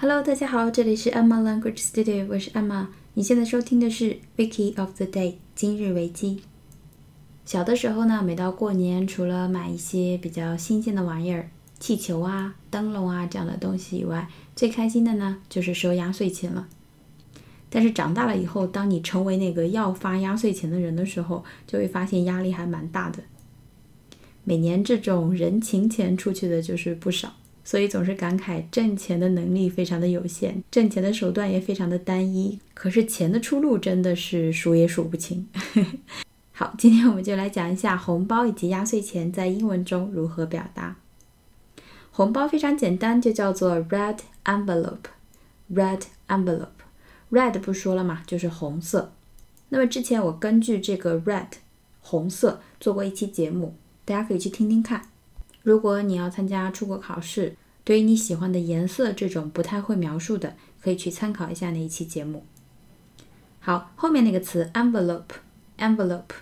Hello， 大家好，这里是 Emma Language Studio， 我是 Emma。你现在收听的是 Wiki of the Day 今日维基。小的时候呢，每到过年，除了买一些比较新鲜的玩意儿，气球啊、灯笼啊这样的东西以外，最开心的呢就是收压岁钱了。但是长大了以后，当你成为那个要发压岁钱的人的时候，就会发现压力还蛮大的。每年这种人情钱出去的就是不少，所以总是感慨挣钱的能力非常的有限，挣钱的手段也非常的单一，可是钱的出路真的是数也数不清。好，今天我们就来讲一下红包以及压岁钱在英文中如何表达。红包非常简单，就叫做 red envelope。red envelope。red 不说了嘛，就是红色。那么之前我根据这个 red 红色做过一期节目，大家可以去听听看。如果你要参加出国考试，对于你喜欢的颜色这种不太会描述的，可以去参考一下那一期节目。好，后面那个词 envelope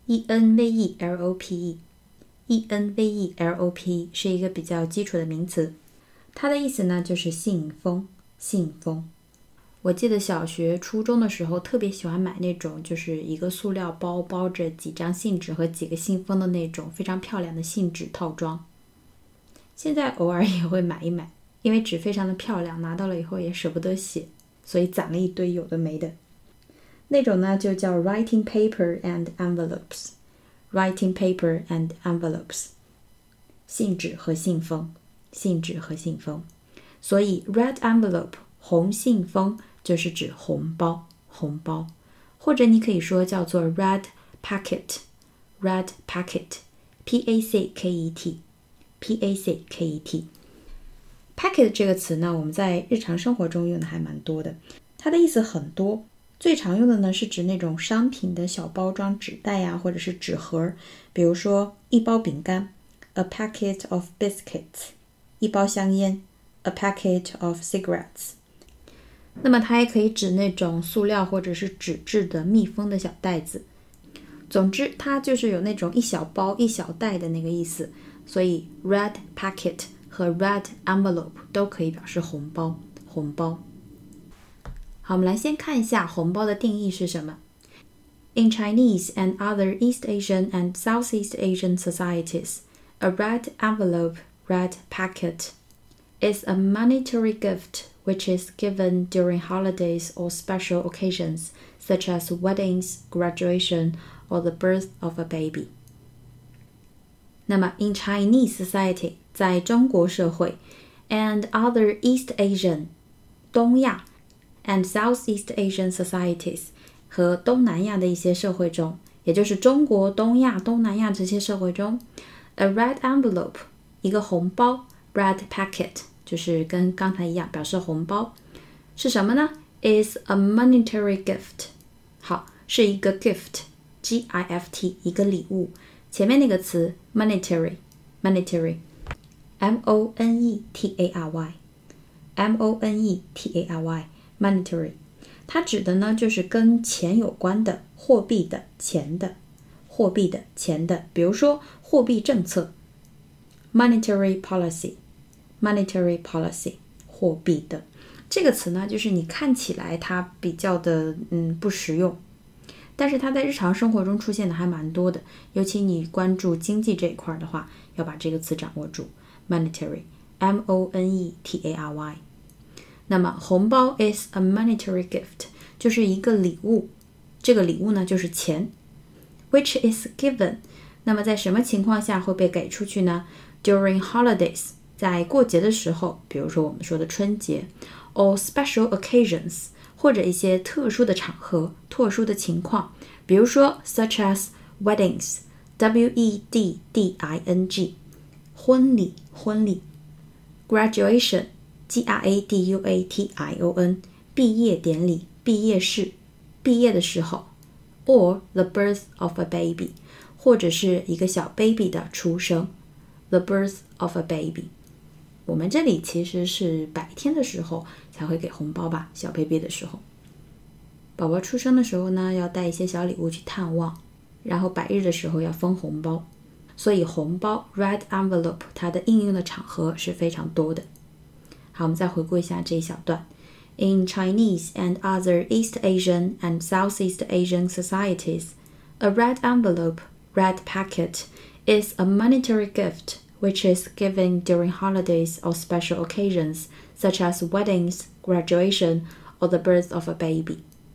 envelope 是一个比较基础的名词，它的意思呢就是信封。我记得小学初中的时候特别喜欢买那种就是一个塑料包包着几张信纸和几个信封的那种非常漂亮的信纸套装。现在偶尔也会买一买，因为纸非常的漂亮，拿到了以后也舍不得写，所以攒了一堆有的没的。那种呢就叫 writing paper and envelopes。 信纸和信封。所以 red envelope 红信封就是指红包，或者你可以说叫做 red packet。 packet 这个词呢，我们在日常生活中用的还蛮多的，它的意思很多。最常用的呢是指那种商品的小包装纸袋呀，或者是纸盒，比如说一包饼干 a packet of biscuits， 一包香烟 a packet of cigarettes。 那么它也可以指那种塑料或者是纸质的密封的小袋子。总之它就是有那种一小包一小袋的那个意思，所以 red packet 和 red envelope 都可以表示红包。好，我们来先看一下红包的定义是什么。In Chinese and other East Asian and Southeast Asian societies, a red envelope, red packet, is a monetary gift which is given during holidays or special occasions, such as weddings, graduation, or the birth of a baby. 那么 in Chinese society 在中国社会 and other East Asian 东亚 and Southeast Asian societies 和东南亚的一些社会中，也就是中国、东亚、东南亚这些社会中， a red envelope 一个红包 red packet 就是跟刚才一样表示红包，是什么呢？ is a monetary gift。 好，是一个 gift G-I-F-T 一个礼物，前面那个词 monetary M-O-N-E-T-A-R-Y monetary， 它指的呢就是跟钱有关的，货币的，钱的，比如说货币政策 monetary policy 货币的。这个词呢就是你看起来它比较的不实用，但是它在日常生活中出现的还蛮多的，尤其你关注经济这一块的话，要把这个词掌握住 monetary M-O-N-E-T-A-R-Y。 那么红包 is a monetary gift 就是一个礼物，这个礼物呢就是钱 which is given， 那么在什么情况下会被给出去呢？ During holidays 在过节的时候，比如说我们说的春节 or special occasions 或者一些特殊的场合、特殊的情况，比如说 such as weddings W-E-D-D-I-N-G 婚礼 graduation G-R-A-D-U-A-T-I-O-N 毕业典礼、毕业式、毕业的时候 or the birth of a baby 或者是一个小 baby 的出生 the birth of a baby。 我们这里其实是白天的时候才会给红包吧，小 baby 的时候，宝宝出生的时候呢要带一些小礼物去探望，然后百日的时候要分红包，所以红包 red envelope 它的应用的场合是非常多的。 好，我们再回顾一下这一小段。In Chinese and other East Asian and Southeast Asian societies, a red envelope, red packet, is a monetary gift which is given during holidays or special occasions, such as weddings, graduation, or the birth of a baby.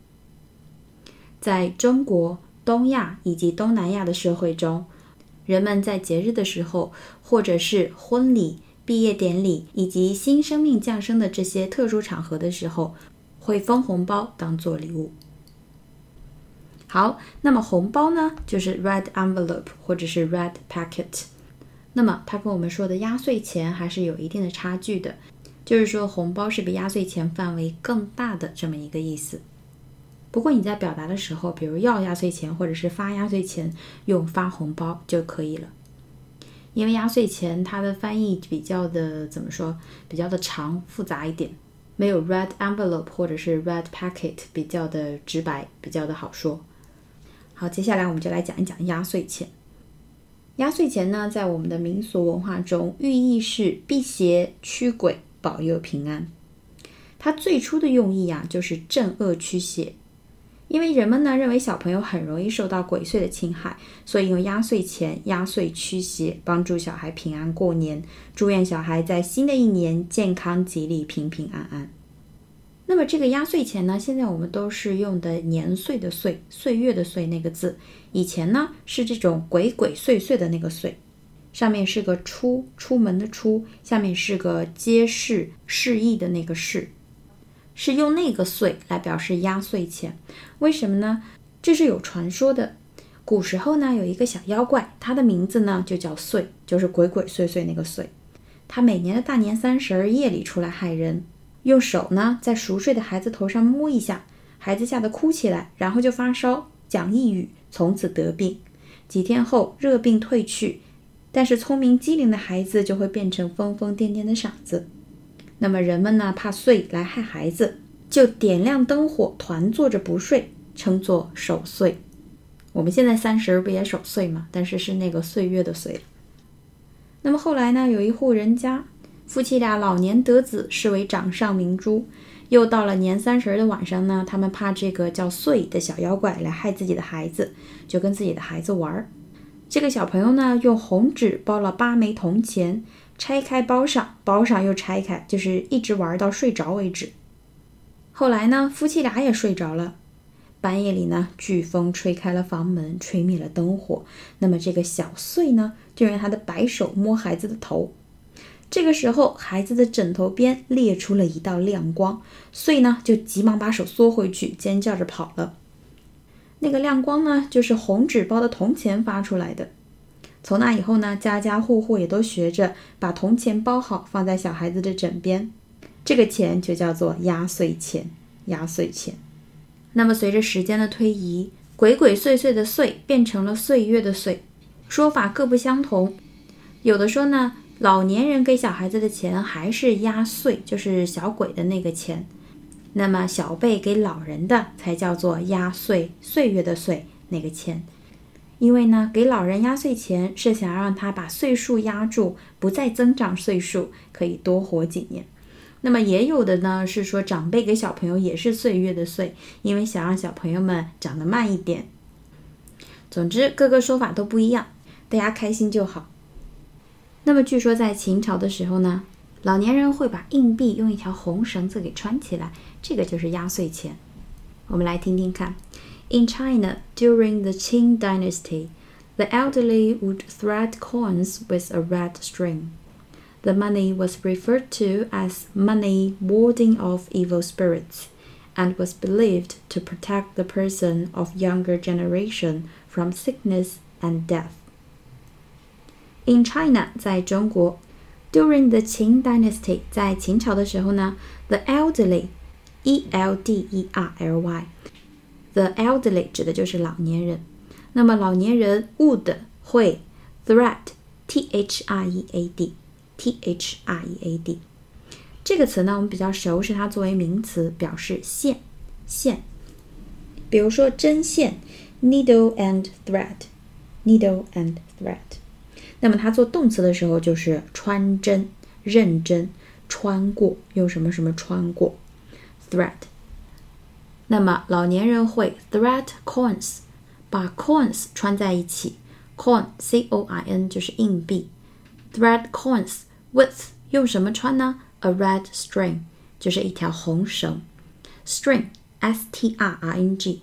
在中国、东亚以及东南亚的社会中，人们在节日的时候，或者是婚礼、毕业典礼以及新生命降生的这些特殊场合的时候，会分红包当做礼物。好，那么红包呢，就是 red envelope 或者是 red packet。那么它跟我们说的压岁钱还是有一定的差距的，就是说红包是比压岁钱范围更大的这么一个意思。不过你在表达的时候，比如要压岁钱或者是发压岁钱，用发红包就可以了。因为压岁钱它的翻译比较的怎么说，比较的长复杂一点，没有 red envelope 或者是 red packet 比较的直白，比较的好说。好，接下来我们就来讲一讲压岁钱。压岁钱呢，在我们的民俗文化中，寓意是辟邪驱鬼，保佑平安。它最初的用意啊，就是镇恶驱邪。因为人们呢认为小朋友很容易受到鬼祟的侵害，所以用压岁钱压岁驱邪，帮助小孩平安过年，祝愿小孩在新的一年健康吉利、平平安安。那么这个压岁钱呢，现在我们都是用的年岁的岁，岁月的岁那个字，以前呢是这种鬼鬼祟祟的那个岁，上面是个出门的出，下面是个揭示示意的那个示，是用那个岁来表示压岁钱。为什么呢？这是有传说的。古时候呢，有一个小妖怪，他的名字呢就叫岁，就是鬼鬼祟祟那个岁。他每年的大年30夜里出来害人，用手呢在熟睡的孩子头上摸一下，孩子吓得哭起来，然后就发烧，讲一语，从此得病。几天后热病退去，但是聪明机灵的孩子就会变成疯疯癫癫的傻子。那么人们呢怕岁来害孩子，就点亮灯火，团坐着不睡，称作守岁。我们现在30不也守岁吗？但是是那个岁月的岁。那么后来呢，有一户人家，夫妻俩老年得子，视为掌上明珠。又到了年30的晚上呢，他们怕这个叫岁的小妖怪来害自己的孩子，就跟自己的孩子玩。这个小朋友呢，用红纸包了8枚铜钱，拆开包上，包上又拆开，就是一直玩到睡着为止。后来呢，夫妻俩也睡着了。半夜里呢，飓风吹开了房门，吹灭了灯火。那么这个小岁呢，就用他的白手摸孩子的头。这个时候，孩子的枕头边裂出了一道亮光，岁呢就急忙把手缩回去，尖叫着跑了。那个亮光呢，就是红纸包的铜钱发出来的。从那以后呢，家家户户也都学着把铜钱包好，放在小孩子的枕边。这个钱就叫做压岁钱，压岁钱。那么随着时间的推移，鬼鬼祟祟的祟变成了岁月的岁，说法各不相同。有的说呢，老年人给小孩子的钱还是压岁，就是小鬼的那个钱。那么小辈给老人的才叫做压岁，岁月的岁那个钱。因为呢，给老人压岁钱是想让他把岁数压住，不再增长岁数，可以多活几年。那么也有的呢是说长辈给小朋友也是岁月的岁，因为想让小朋友们长得慢一点。总之各个说法都不一样，大家开心就好。那么据说在秦朝的时候呢，老年人会把硬币用一条红绳子给穿起来，这个就是压岁钱。我们来听听看。In China, during the Qing dynasty, the elderly would thread coins with a red string.The money was referred to as money warding off evil spirits, and was believed to protect the person of younger generation from sickness and death. In China, 在中国 during the Qing dynasty, 在秦朝的时候呢 the elderly, E-L-D-E-R-L-Y, the elderly 指的就是老年人。那么老年人 would 会 thread, T-H-R-E-A-D,T-H-R-E-A-D 这个词呢，我们比较熟，是它作为名词表示线。比如说针线 needle and thread， needle and thread。那么它做动词的时候就是穿针、认真。 穿过，用什么什么穿过 thread。 那么老年人会 thread coins， 把 coins 穿在一起， coin C-O-I-N 就是硬币， thread coins with 用什么穿呢？ A red string 就是一条红绳， string S-T-R-I-N-G，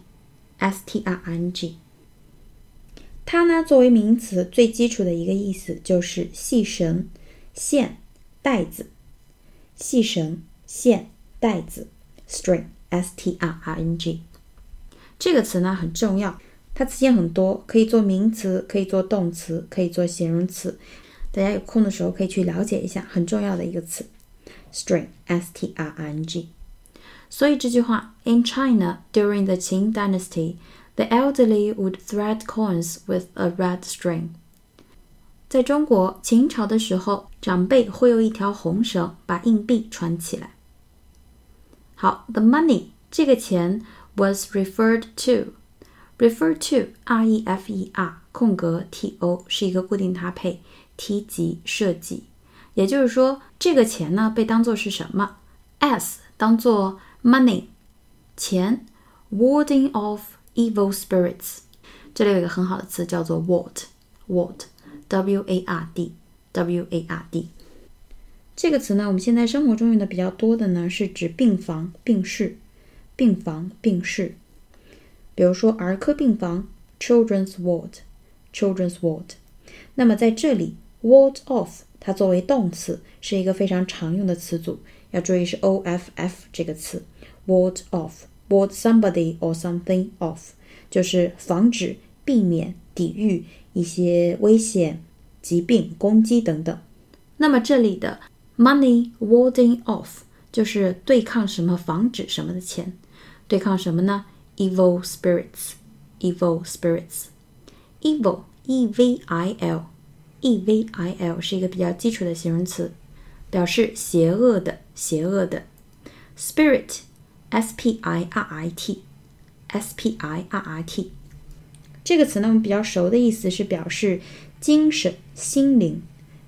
它呢作为名词最基础的一个意思就是细绳、线、带子，细绳、线、带子 string S-T-R-I-N-G。 这个词呢很重要，它词件很多，可以做名词，可以做动词，可以做形容词，大家有空的时候可以去了解一下，很重要的一个词 string S-T-R-I-N-G。 所以这句话 In China during the Qing dynasty the elderly would thread coins with a red string。 在中国秦朝的时候，长辈会用一条红绳把硬币穿起来。好， the money 这个钱 was referred to R-E-F-E-R 空格 T-O 是一个固定搭配，提及设计，也就是说这个钱呢被当作是什么？ S 当作 money 钱， warding off evil spirits， 这里有一个很好的词叫做 ward W-A-R-D 这个词呢我们现在生活中用的比较多的呢是指病房、病室，病房、病室，比如说儿科病房 children's ward。 那么在这里 ward off 它作为动词是一个非常常用的词组，要注意是 O-F-F 这个词 ward off， ward somebody or something off 就是防止、避免、抵御一些危险、疾病、攻击等等。那么这里的 money warding off 就是对抗什么、防止什么的钱，对抗什么呢？ evil spirits evil E-V-I-L 是一个比较基础的形容词，表示邪恶的 spirit S-P-I-R-I-T 这个词呢我们比较熟的意思是表示精神、心灵，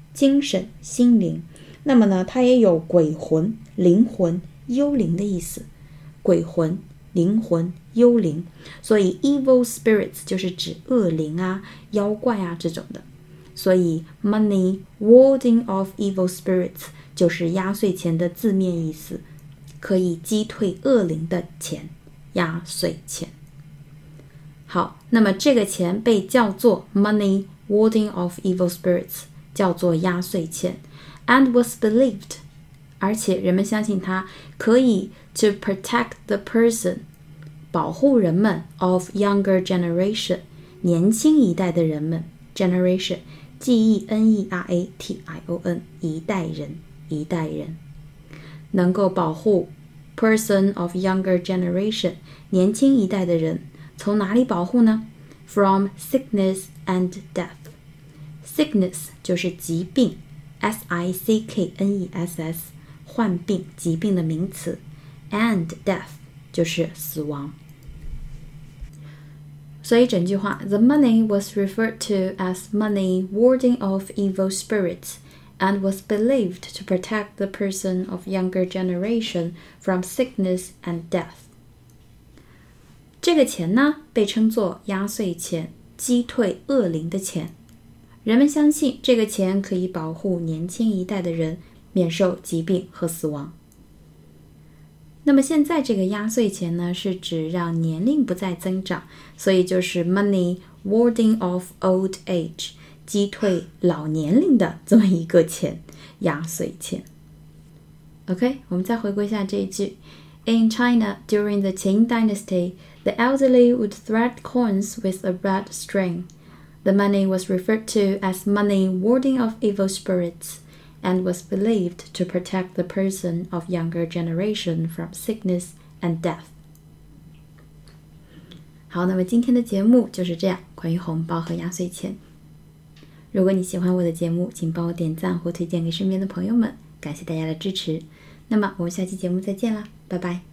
那么呢它也有鬼魂、灵魂、幽灵的意思，鬼魂、灵魂、幽灵，所以 evil spirits 就是指恶灵啊、妖怪啊这种的，所以 money warding off evil spirits 就是压岁钱的字面意思，可以击退恶灵的钱，压岁钱。好，那么这个钱被叫做 money warding off evil spirits， 叫做压岁钱 and was believed， 而且人们相信它可以 to protect the person， 保护人们 of younger generation， 年轻一代的人们 generation G-E-N-E-R-A-T-I-O-N 一代人能够保护 person of younger generation 年轻一代的人，从哪里保护呢？ From sickness and death。 Sickness 就是疾病 S-I-C-K-N-E-S-S 患病、疾病的名词， and death 就是死亡。所以整句话 The money was referred to as money warding off evil spirits and was believed to protect the person of younger generation from sickness and death。 这个钱呢被称作压岁钱，击退恶灵的钱，人们相信这个钱可以保护年轻一代的人免受疾病和死亡。那么现在这个压岁钱呢是指让年龄不再增长，所以就是 money warding off old age， 击退老年龄的这么一个钱，压岁钱。 OK， 我们再回顾一下这一句 In China during the Qing dynasty the elderly would thread coins with a red string. The money was referred to as money warding off evil spirits and was believed to protect the person of younger generation from sickness and death. 好，那么今天的节目就是这样，关于红包和压岁钱。如果你喜欢我的节目，请帮我点赞或推荐给身边的朋友们，感谢大家的支持。那么我们下期节目再见啦，拜拜。